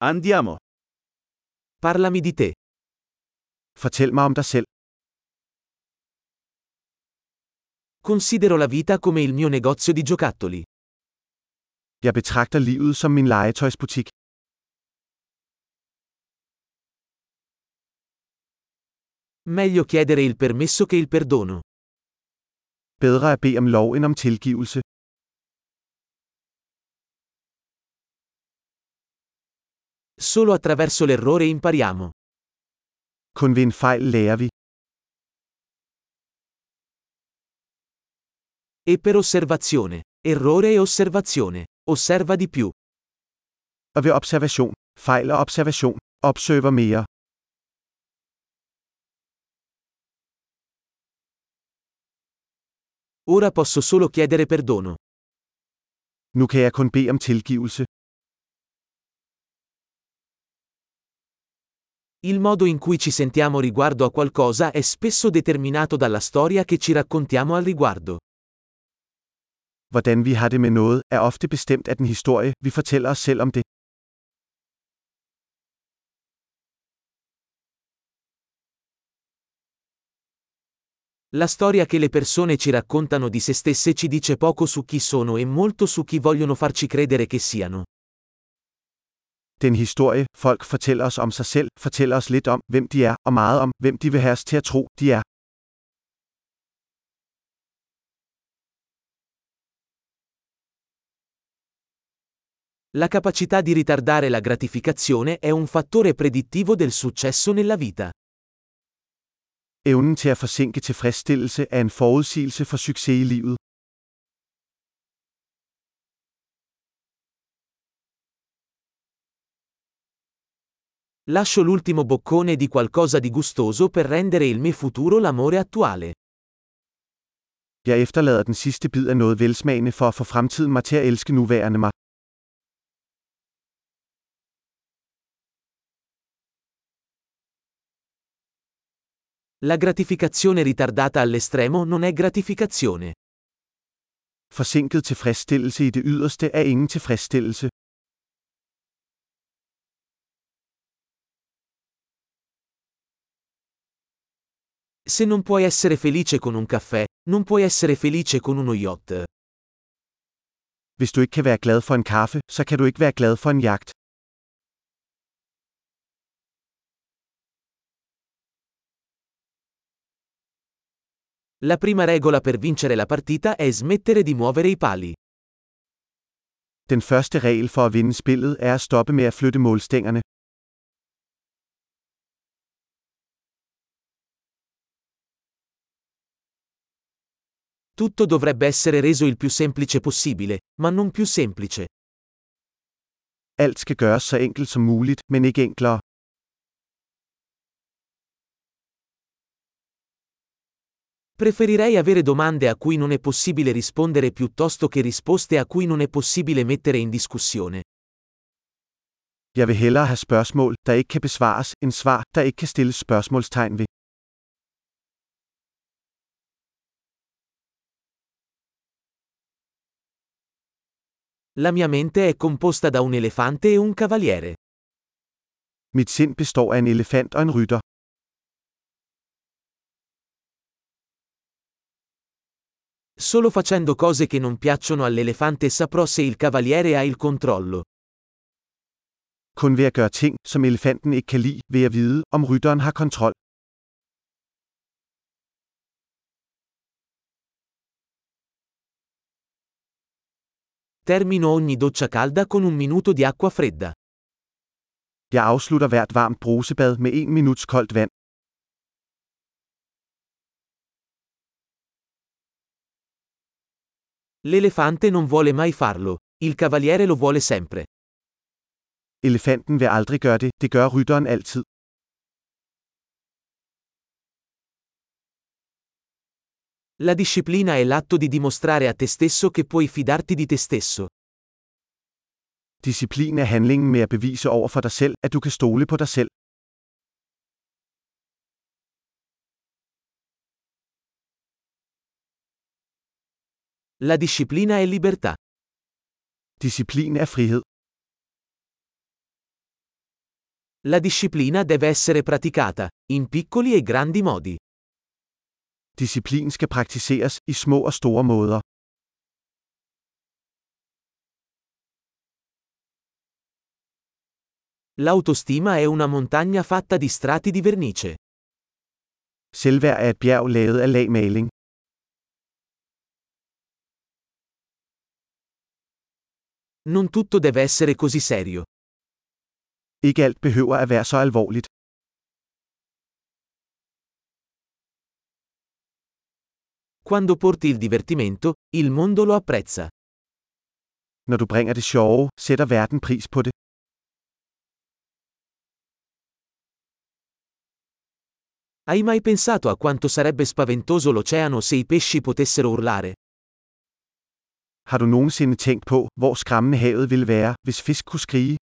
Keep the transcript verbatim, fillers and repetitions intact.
Andiamo. Parlami di te. Fortæl mig om dig selv. Considero la vita come il mio negozio di giocattoli. Jeg betragter livet som min legetøjsbutik. Meglio chiedere il permesso che il perdono. Bedre at bede om lov end om tilgivelse. Solo attraverso l'errore impariamo. Kun ved en fejl lærer vi. E per osservazione. Errore e osservazione. Osserva di più. Og ved observation, fejl og observation, observer mere. Ora posso solo chiedere perdono. Nu kan jeg kun bede om tilgivelse. Il modo in cui ci sentiamo riguardo a qualcosa è spesso determinato dalla storia che ci raccontiamo al riguardo. Hvordan vi har det med noget, er ofte bestemt af den historie, vi fortæller os selv om det. La storia che le persone ci raccontano di se stesse ci dice poco su chi sono e molto su chi vogliono farci credere che siano. Den historie, folk fortæller os om sig selv, fortæller os lidt om, hvem de er, og meget om, hvem de vil have os til at tro, de er. La capacità di ritardare la gratificazione è un fattore predittivo del successo nella vita. Evnen til at forsinke tilfredsstillelse er en forudsigelse for succes i livet. Lascio l'ultimo boccone di qualcosa di gustoso per rendere il mio futuro l'amore attuale. Jeg efterlader den sidste bid af noget velsmagende for at få fremtiden mig til at elske nuværende mig. La gratificazione ritardata all'estremo non è gratificazione. Forsinket tilfredsstillelse i det yderste er ingen tilfredsstillelse. Se non puoi essere felice con un caffè, non puoi essere felice con uno yacht. Hvis du ikke kan være glad for en kaffe, så kan du ikke være glad for en jagt. La prima regola per vincere la partita è smettere di muovere i pali. Den første regel for at vinde spillet er at stoppe med at flytte målstængerne. Tutto dovrebbe essere reso il più semplice possibile, ma non più semplice. Alt skal gøres så enkelt som muligt, men ikke enklere. Preferirei avere domande a cui non è possibile rispondere piuttosto che risposte a cui non è possibile mettere in discussione. Jeg vil hellere have spørgsmål, der ikke kan besvares, end svar, der ikke kan stilles spørgsmålstegn ved. La mia mente è composta da un elefante e un cavaliere. Mit sind består af en elefant og en rytter. Solo facendo cose che non piacciono all'elefante saprò se il cavaliere ha il controllo. Kun ved at gøre ting, som elefanten ikke kan lide, vil jeg vide, om rytteren har kontrol. Termino ogni doccia calda con un minuto di acqua fredda. Jeg afslutter hvert varmt brusebad med en minuts koldt vand. L'elefante non vuole mai farlo, il cavaliere lo vuole sempre. Elefanten vil aldrig gøre det, det gør rytteren altid. La disciplina è l'atto di dimostrare a te stesso che puoi fidarti di te stesso. Disciplin er handlingen med at bevise over for dig selv, at du kan stole på dig selv. La disciplina è libertà. Disciplin er frihed. La disciplina deve essere praticata, in piccoli e grandi modi. Disciplin skal praktiseres i små og store måder. L'autostima è una montagna fatta di strati di vernice. Selvværd er et bjerg lavet af lag maling. Non tutto deve essere così serio. Ikke alt behøver at være så alvorligt. Quando porti il divertimento, il mondo lo apprezza. Når du bringer det sjove, sætter verden pris på det. Hai mai pensato a quanto sarebbe spaventoso l'oceano se i pesci potessero urlare? Har du nogensinde tænkt på, hvor skræmmende havet ville være, hvis fisk kunne skrige?